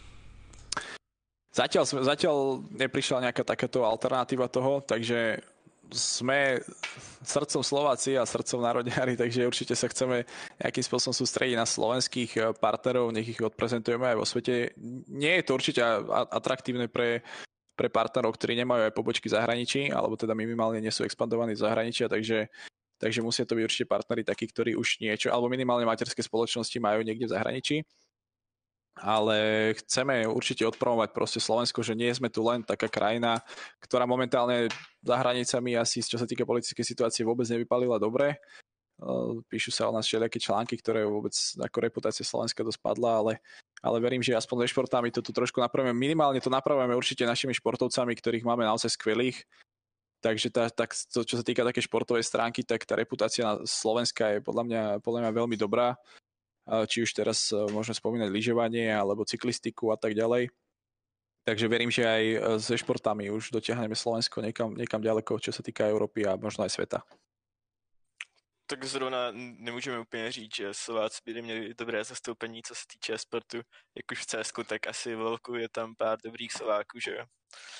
Zatiaľ neprišla nejaká takáto alternatíva toho, takže sme srdcom Slováci a srdcom národňári, takže určite sa chceme nejakým spôsobom sústrediť na slovenských partnerov, nech ich odprezentujeme aj vo svete. Nie je to určite atraktívne pre partnerov, ktorí nemajú aj pobočky v zahraničí, alebo teda minimálne nie sú expandovaní z zahraničia, takže musia to byť určite partneri takí, ktorí už niečo, alebo minimálne materské spoločnosti majú niekde v zahraničí. Ale chceme určite odpromovať proste Slovensko, že nie sme tu len taká krajina, ktorá momentálne za hranicami asi, čo sa týka politickej situácie, vôbec nevypalila dobre. Píšu sa o nás všelijaké články, ktoré vôbec ako reputácia Slovenska dosť padla, ale verím, že aspoň so športami to tu trošku napravíme. Minimálne to napravíme určite našimi športovcami, ktorých máme naozaj skvelých. Takže to, čo sa týka také športovej stránky, tak tá reputácia Slovenska je podľa mňa veľmi dobrá. Či už teraz môžeme spomínať lyžovanie alebo cyklistiku a tak ďalej. Takže verím, že aj so športami už dotiahneme Slovensko niekam ďaleko, čo sa týka Európy a možno aj sveta.
Tak zrovna nemůžeme úplně říct, že Slováci by měli dobré zastoupení, co se týče sportu. Jak už v CSku, tak asi v Lolku je tam pár dobrých Slováků, že jo?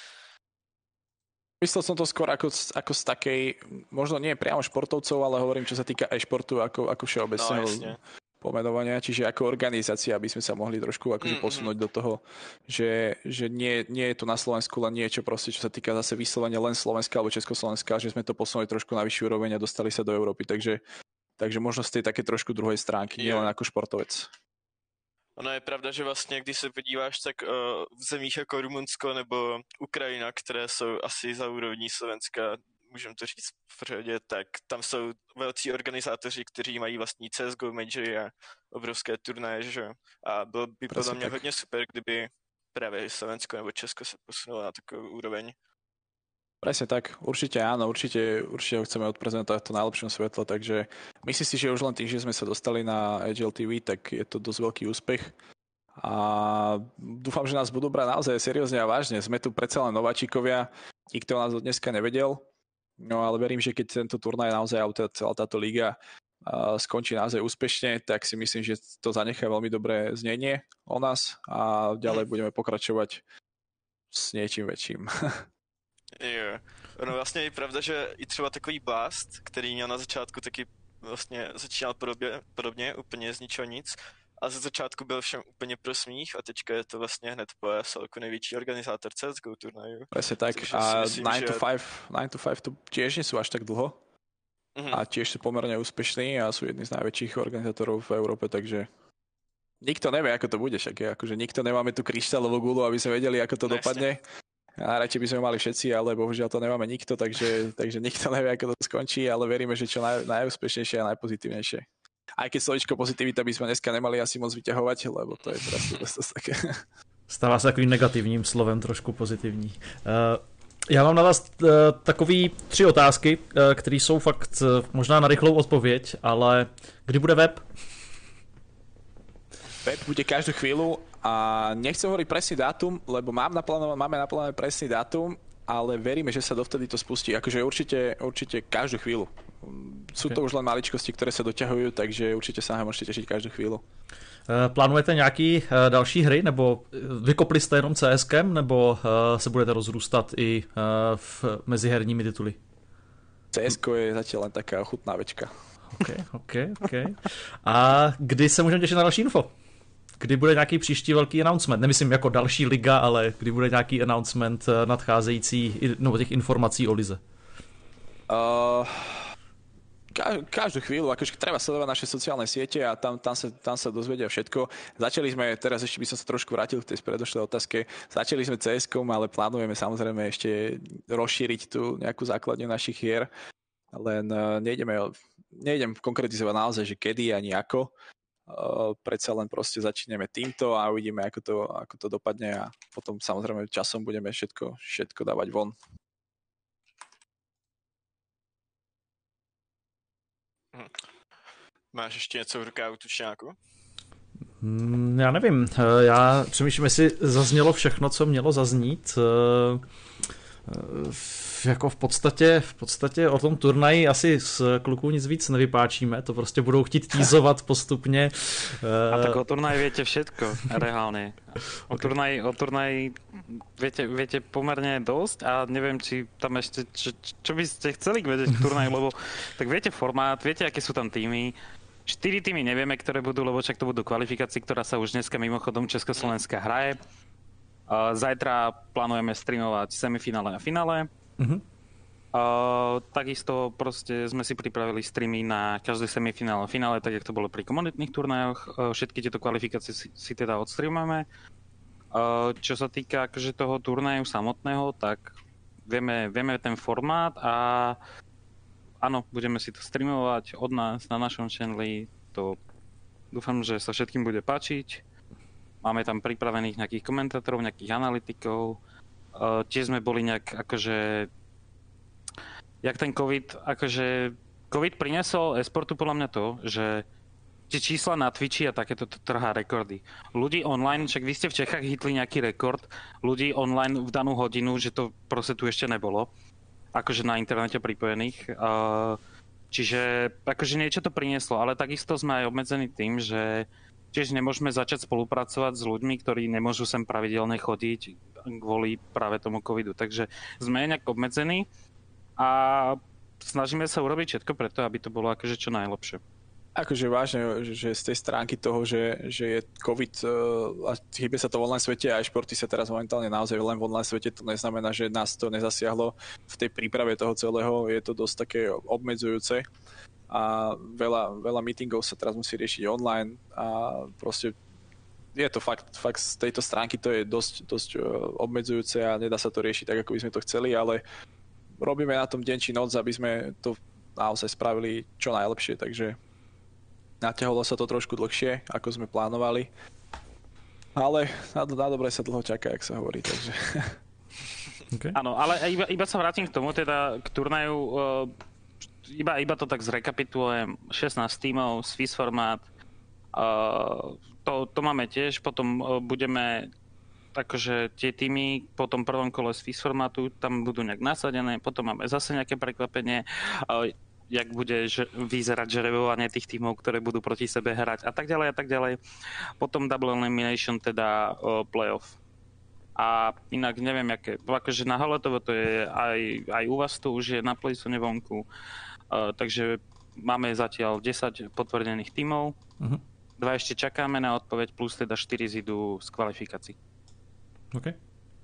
Myslel som to skôr ako z takej, možno nie priamo športovcov, ale hovorím, čo sa týka e-športu ako všeobecného pomenovania, čiže ako organizácia, aby sme sa mohli trošku akože posunúť do toho, že nie je to na Slovensku len niečo proste, čo sa týka zase vyslovene len Slovenska alebo Československa, že sme to posunuli trošku na vyššiu úroveň a dostali sa do Európy, takže možno z tej také trošku druhej stránky, nielen ako športovec.
Ono je pravda, že vlastně, když se podíváš, tak v zemích jako Rumunsko nebo Ukrajina, které jsou asi za úrovní Slovenska, můžeme to říct v pořadě, tak tam jsou velcí organizátoři, kteří mají vlastní CSGO majory a obrovské turnaje, že jo. A bylo by podle mě hodně super, kdyby právě Slovensko nebo Česko se posunulo na takovou úroveň.
Presne tak, určite áno, určite ho chceme odprezentovať v to najlepšom svetle, takže myslím si, že už len tým, že sme sa dostali na Agile TV, tak je to dosť veľký úspech a dúfam, že nás budú brať naozaj seriózne a vážne. Sme tu predsa len nováčikovia, nikto nás do dneska nevedel, no ale verím, že keď tento turnaj naozaj, celá táto liga skončí naozaj úspešne, tak si myslím, že to zanechá veľmi dobré znenie o nás a ďalej budeme pokračovať s niečím väčším.
Jo, ono vlastně je pravda, že i třeba takový Blast, který měl na začátku taky vlastně začínal podobně, úplně z ničeho nic, a ze začátku byl všem úplně pro smích a teďka je to vlastně hned po ESL jako největší organizátor CSGO turnaju.
Presne tak, a 9 to 5 to tiež nie sú až tak dlho a tiež sú pomerne úspešní a sú jedni z najväčších organizátorov v Európe, takže nikto nevie, ako to bude, však akože nikto nemáme tú kryštálovú gulu, aby sme vedeli, ako to dopadne. A radšej by sme mali všetci, ale bohužiaľ to nemáme nikto, takže nikto nevie, ako to skončí, ale veríme, že čo najúspešnejšie a najpozitívnejšie. Aj keď slovičko pozitivita by sme dneska nemali asi moc vyťahovať, lebo to je teraz dosť také.
Stává se takovým negativním slovem, trošku pozitivní. Já mám na vás takový 3 otázky, které jsou fakt možná na rychlou odpověď, ale kdy bude web?
Web bude každú chvíľu a nechcem hovoriť presný dátum, lebo máme naplánovaný presný dátum, ale veríme, že sa dovtedy to spustí. Akože určite každú chvíľu. Sú to už len maličkosti, ktoré sa doťahujú, takže určite sa môžete tešiť každú chvíľu.
Plánujete nějaký další hry, nebo vykopli jste jenom CSkem, nebo se budete rozrůstat i mezi herními tituly?
CSko je zatiaľ len taká ochutnávečka.
OK. A kdy se můžeme těšit na další info? Kdy bude nějaký příští velký announcement? Nemyslím jako další liga, ale kdy bude nějaký announcement nadcházející, nebo těch informací o lize?
Každú chvíľu, akože treba sledovať naše sociálne siete a tam sa dozvedia všetko. Začali sme, teraz ešte by som sa trošku vrátil k tej predošlej otázke, začali sme CS-kom, ale plánujeme samozrejme ešte rozšíriť tú nejakú základňu našich hier, len nejdem konkretizovať naozaj, že kedy ani ako. Predsa len proste začneme týmto a uvidíme, ako to dopadne a potom samozrejme časom budeme všetko dávať von.
Máš ještě něco v rukávu, tučňáku?
Já nevím, já přemýšlím, jestli zaznělo všechno, co mělo zaznít. Jako v podstatě o tom turnaji asi z kluků nic víc nevypáčíme, to prostě budou chtít týzovat postupně.
A tak o turnaji viete všetko, reálne. O turnaji viete pomerne dosť a neviem, či tam ešte, čo by ste chceli vedieť k turnaji, lebo tak viete formát, viete, aké sú tam týmy. 4 týmy nevieme, ktoré budú, lebo však to budú kvalifikácie, ktorá sa už dneska mimochodom Československá hraje. Zajtra plánujeme streamovať semifinále a finále. Takisto proste sme si pripravili streamy na každé semifinále a finále, tak jak to bolo pri komunitných turnajoch. Všetky tieto kvalifikácie si teda odstreamujeme. Čo sa týka akože toho turnaju samotného, tak vieme ten formát a áno, budeme si to streamovať od nás na našom channeli. To dúfam, že sa všetkým bude páčiť. Máme tam pripravených nejakých komentátorov, nejakých analytikov. Tiež sme boli nejak akože... Jak ten COVID priniesol e-sportu podľa mňa to, že tie čísla na Twitchi a takéto trhá rekordy. Ľudí online, však vy ste v Čechách hitli nejaký rekord, ľudí online v danú hodinu, že to proste tu ešte nebolo. Akože na internete pripojených. Čiže akože niečo to prinieslo, ale takisto sme aj obmedzení tým, že tiež nemôžeme začať spolupracovať s ľuďmi, ktorí nemôžu sem pravidelne chodiť kvôli práve tomu covidu. Takže sme nejak obmedzení a snažíme sa urobiť všetko preto, aby to bolo akože čo najlepšie.
Akože vážne, že z tej stránky toho, že je COVID a hýbe sa to v online svete a športy sa teraz momentálne naozaj len v online svete, to neznamená, že nás to nezasiahlo v tej príprave toho celého, je to dosť také obmedzujúce a veľa meetingov sa teraz musí riešiť online a proste je to fakt z tejto stránky to je dosť obmedzujúce a nedá sa to riešiť tak, ako by sme to chceli, ale robíme na tom deň či noc, aby sme to naozaj spravili čo najlepšie, takže natiahlo sa to trošku dlhšie, ako sme plánovali. Ale na dobre sa dlho čaká, jak sa hovorí, takže...
Okay. Áno, ale iba sa vrátim k tomu, teda k turnaju, iba to tak zrekapitulujem, 16 tímov, Swiss formát, to máme tiež, potom budeme, akože tie týmy po tom prvom kole Swiss formátu, tam budú nejak nasadené, potom máme zase nejaké prekvapenie, jak bude vyzerať žrebovanie tých tímov, ktoré budú proti sebe hrať a tak ďalej a tak ďalej. Potom double elimination, teda playoff. A inak neviem, akože na Haletovo to je aj u vás to už je na Playzone vonku, takže máme zatiaľ 10 potvrdených tímov, 2 ešte čakáme na odpoveď, plus teda 4 zidú z kvalifikácií.
Okay.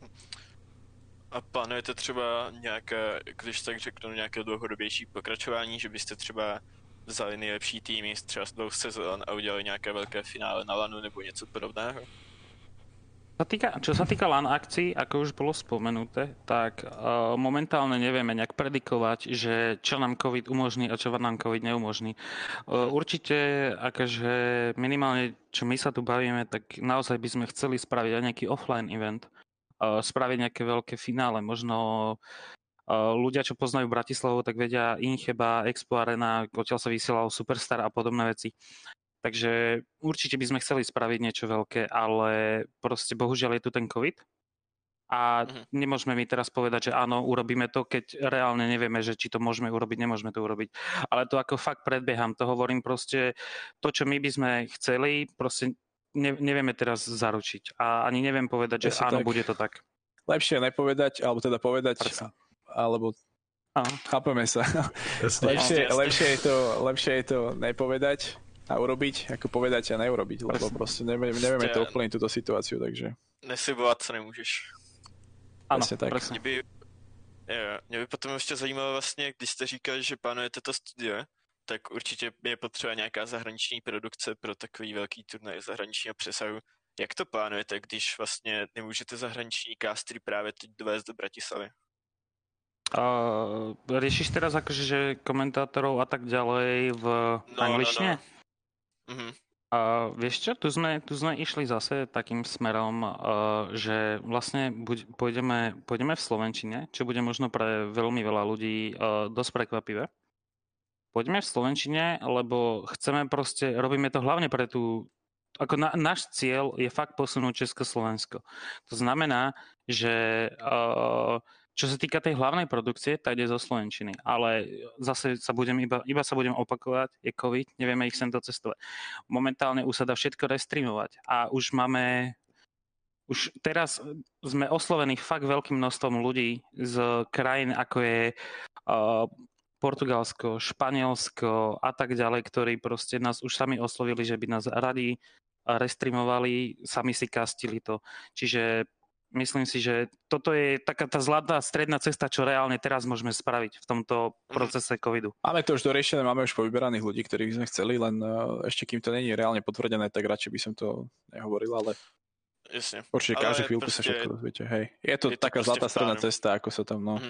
A plánujete třeba nějaké, když tak řeknu, nějaké dlouhodobější pokračování, že byste třeba vzali nejlepší týmy třeba z 2 sezón a udělali nějaké velké finále na LANu nebo něco podobného?
Čo sa týka LAN akcií, ako už bolo spomenuté, tak momentálne nevieme nejak predikovať, že čo nám COVID umožní a čo nám COVID neumožní. Určite, akože minimálne, čo my sa tu bavíme, tak naozaj by sme chceli spraviť aj nejaký offline event, spraviť nejaké veľké finále. Možno ľudia, čo poznajú Bratislavu, tak vedia Incheba, Expo Arena, odtiaľ sa vysielal Superstar a podobné veci. Takže určite by sme chceli spraviť niečo veľké, ale proste bohužiaľ je tu ten COVID a nemôžeme mi teraz povedať, že áno, urobíme to, keď reálne nevieme, že či to môžeme urobiť, nemôžeme to urobiť. Ale to ako fakt predbieham, to hovorím proste, to, čo my by sme chceli, proste nevieme teraz zaručiť a ani neviem povedať, že áno, tak. Bude to tak.
Lepšie nepovedať, alebo teda povedať, alebo chápeme sa. Lepšie je to nepovedať a urobiť, ako povedať a neurobiť, lebo proste nevieme to ovplyvniť túto situáciu, takže...
Neslibovat, co nemůžeš.
Ano,
tak.
Mě by potom ještě zajímalo vlastně, když jste říkali, že plánujete to studio, tak určitě je potřeba nějaká zahraniční produkce pro takový velký turnaj zahraničního přesahu. Jak to plánujete, když vlastně nemůžete zahraniční castery právě teď dovést do Bratislavy?
Riešiš teraz akože že komentátorov a tak ďalej v angličtine?
No.
Vieš čo, tu sme išli zase takým smerom, že vlastne pôjdeme v slovenčine, čo bude možno pre veľmi veľa ľudí dosť prekvapivé. Poďme v slovenčine, lebo chceme proste, robíme to hlavne pre tú, ako náš cieľ je fakt posunúť Československo. To znamená, že čo sa týka tej hlavnej produkcie, tak ide zo slovenčiny. Ale zase sa iba sa budem opakovať, je COVID, nevieme ich sem docestovať. Momentálne už sa dá všetko restreamovať a už teraz sme oslovení fakt veľkým množstvom ľudí z krajín, ako je Portugalsko, Španielsko a tak ďalej, ktorí proste nás už sami oslovili, že by nás radi restreamovali, sami si castili to. Čiže myslím si, že toto je taká tá zlatá stredná cesta, čo reálne teraz môžeme spraviť v tomto procese covidu.
Máme to už doriešené, máme už povyberaných ľudí, ktorých sme chceli, len ešte kým to není reálne potvrdené, tak radšej by som to nehovoril, ale
jasne.
Určite každú chvíľku sa všetko dozviete. Hej. Je to taká zlatá stredná cesta, ako sa tam, no.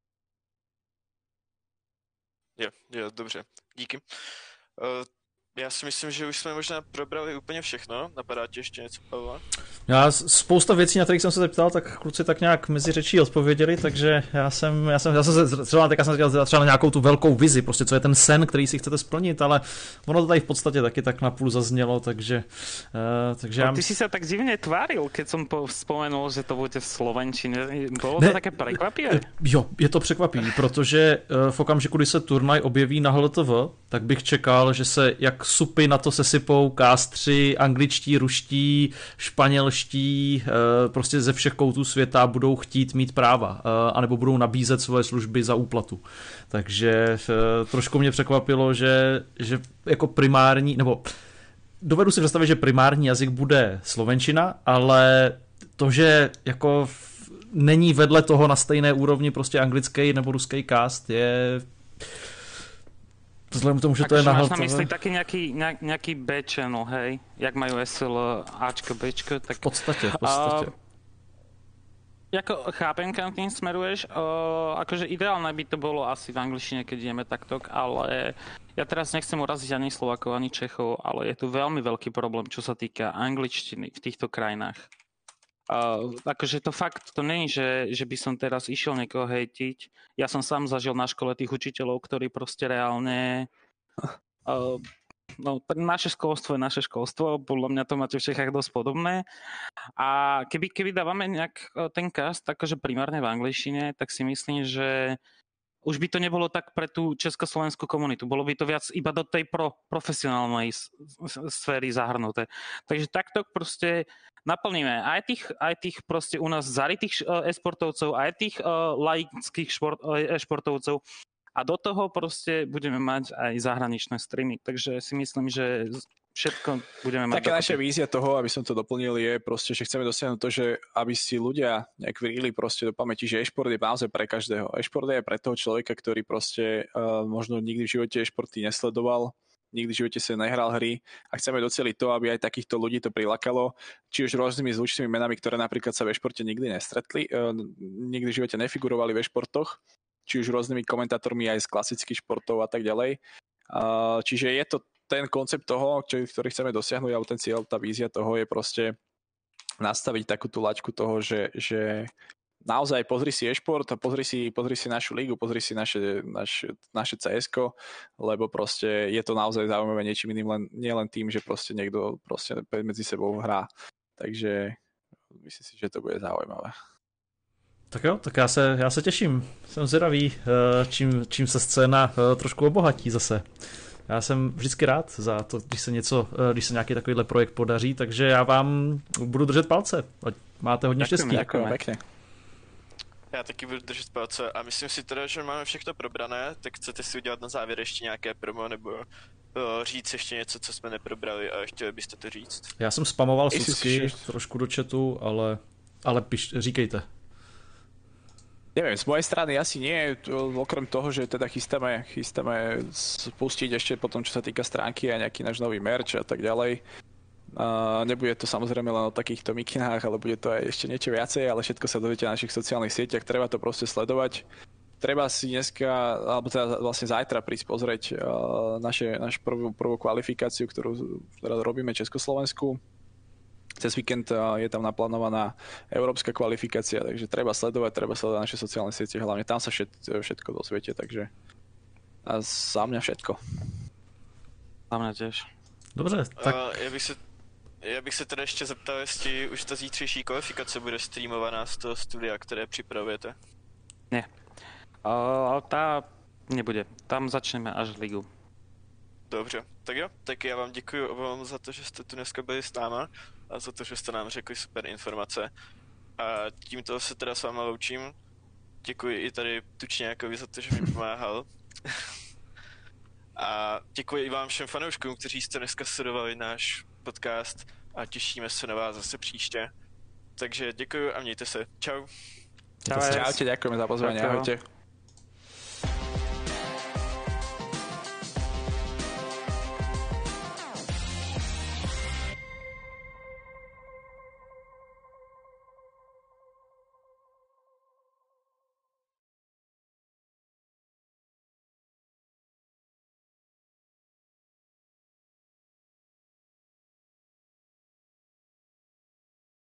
Jo, dobře. Díky. Já si myslím, že už jsme možná probrali úplně všechno. Napadá ti ještě něco, Pavla?
Já spousta věcí, na kterých jsem se zeptal, tak kluci tak nějak mezi řečí odpověděli, takže já jsem třeba na nějakou tu velkou vizi, prostě co je ten sen, který si chcete splnit, ale ono to tady v podstatě taky tak napůl zaznělo, takže
já... Ty si se tak divně tváril, keď jsem vzpomenul, že to bude v slovenčině. Bylo to také překvapivé?
Jo, je to překvapivé, protože v okamžiku, kdy se turnaj objeví na HLTV, tak bych čekal, že se jak supy na to sesypou kástři, angličtí, ruští, španělští, prostě ze všech koutů světa budou chtít mít práva, anebo budou nabízet svoje služby za úplatu. Takže trošku mě překvapilo, že jako primární, nebo dovedu si představit, že primární jazyk bude slovenčina, ale to, že jako není vedle toho na stejné úrovni prostě anglický nebo ruský cast, je... Vzhledem k tomu, že to je na
máš na mysli taký nejaký B-channel, hej? Jak majú SL Ačko, Bčko, tak...
V podstatě.
Jako chápem, kam tým smeruješ. Akože ideálne by to bolo asi v angličtine, keď ideme takto, ale ja teraz nechcem uraziť ani Slovákov, ani Čechov, ale je tu veľmi veľký problém, čo sa týka angličtiny v týchto krajinách. Akože to fakt, to není, že by som teraz išiel niekoho hejtiť. Ja som sám zažil na škole tých učiteľov, ktorí proste reálne... No, naše školstvo je naše školstvo, podľa mňa to máte v Čechách dosť podobné. A keby dávame nejak ten cast, akože primárne v angličtine, tak si myslím, že už by to nebolo tak pre tú československú komunitu. Bolo by to viac iba do tej profesionálnej sféry zahrnuté. Takže takto proste naplníme aj tých proste u nás zarytých e-sportovcov, aj tých laických športovcov. A do toho proste budeme mať aj zahraničné streamy. Takže si myslím, že všetko budeme mať.
Taká naša vízia toho, aby som to doplnil, je proste, že chceme dosiahnuť to, že aby si ľudia nejak vrili proste do pamäti, že e-šport je naozaj pre každého. E-šport je pre toho človeka, ktorý proste možno nikdy v živote e-športy nesledoval, nikdy v živote sa nehral hry a chceme doceliť to, aby aj takýchto ľudí to prilákalo, či už rôznymi zvučnými menami, ktoré napríklad sa v e-športe nikdy nestretli, nikdy v živote nefigurovali v e-športoch, či už rôznymi komentátormi aj z klasických športov a tak ďalej. Čiže je to ten koncept toho, ktorý chceme dosiahnuť, alebo ten cieľ, tá vízia toho je proste nastaviť takú tú laťku toho, že naozaj pozri si e-šport a pozri si našu ligu, pozri si naše CS-ko, lebo proste je to naozaj zaujímavé niečím iným, nielen tým, že proste niekto proste medzi sebou hrá. Takže myslím si, že to bude zaujímavé.
Tak jo, tak já se těším. Jsem zvědavý, čím se scéna trošku obohatí zase. Já jsem vždycky rád za to, když se nějaký takovýhle projekt podaří, takže já vám budu držet palce. Máte hodně štěstí.
Děkujeme pěkně.
Já taky budu držet palce a myslím si teda, že máme všechno probrané, tak chcete si udělat na závěr ještě nějaké promo nebo říct ještě něco, co jsme neprobrali a chtěli byste to říct?
Já jsem spamoval Sucky trošku do chatu, ale říkejte.
Neviem, z mojej strany asi nie, okrem toho, že teda chystáme spustiť ešte potom, čo sa týka stránky a nejaký náš nový merch a tak ďalej. Nebude to samozrejme len o takýchto mikinách, ale bude to aj ešte niečo viacej, ale všetko sa dozviete na našich sociálnych sieťach, treba to proste sledovať. Treba si dneska, alebo teda vlastne zajtra prísť pozrieť našu prvú kvalifikáciu, ktorú robíme Československu. Cez víkend je tam naplánovaná európska kvalifikácia, takže treba sledovať naše sociálne siete, hlavne tam sa všetko dozviete, takže a za mňa všetko.
Za mňa tiež.
Dobře, tak...
Já bych se teda ještě zeptal, jestli už ta zítřejší kvalifikace bude streamovaná z toho studia, které připravujete.
Nie. Tá nebude. Tam začneme až ligu.
Dobře, tak jo, tak já vám děkuji obom za to, že jste tu dneska byli s náma a za to, že jste nám řekli super informace. A tímto se teda s váma loučím. Děkuji i tady Tučňákovi za to, že mi pomáhal. A děkuji i vám všem fanouškům, kteří jste dneska sledovali náš podcast a těšíme se na vás zase příště. Takže děkuji a mějte se. Čau.
Čaute, ďakujeme za pozvanie, ahojte.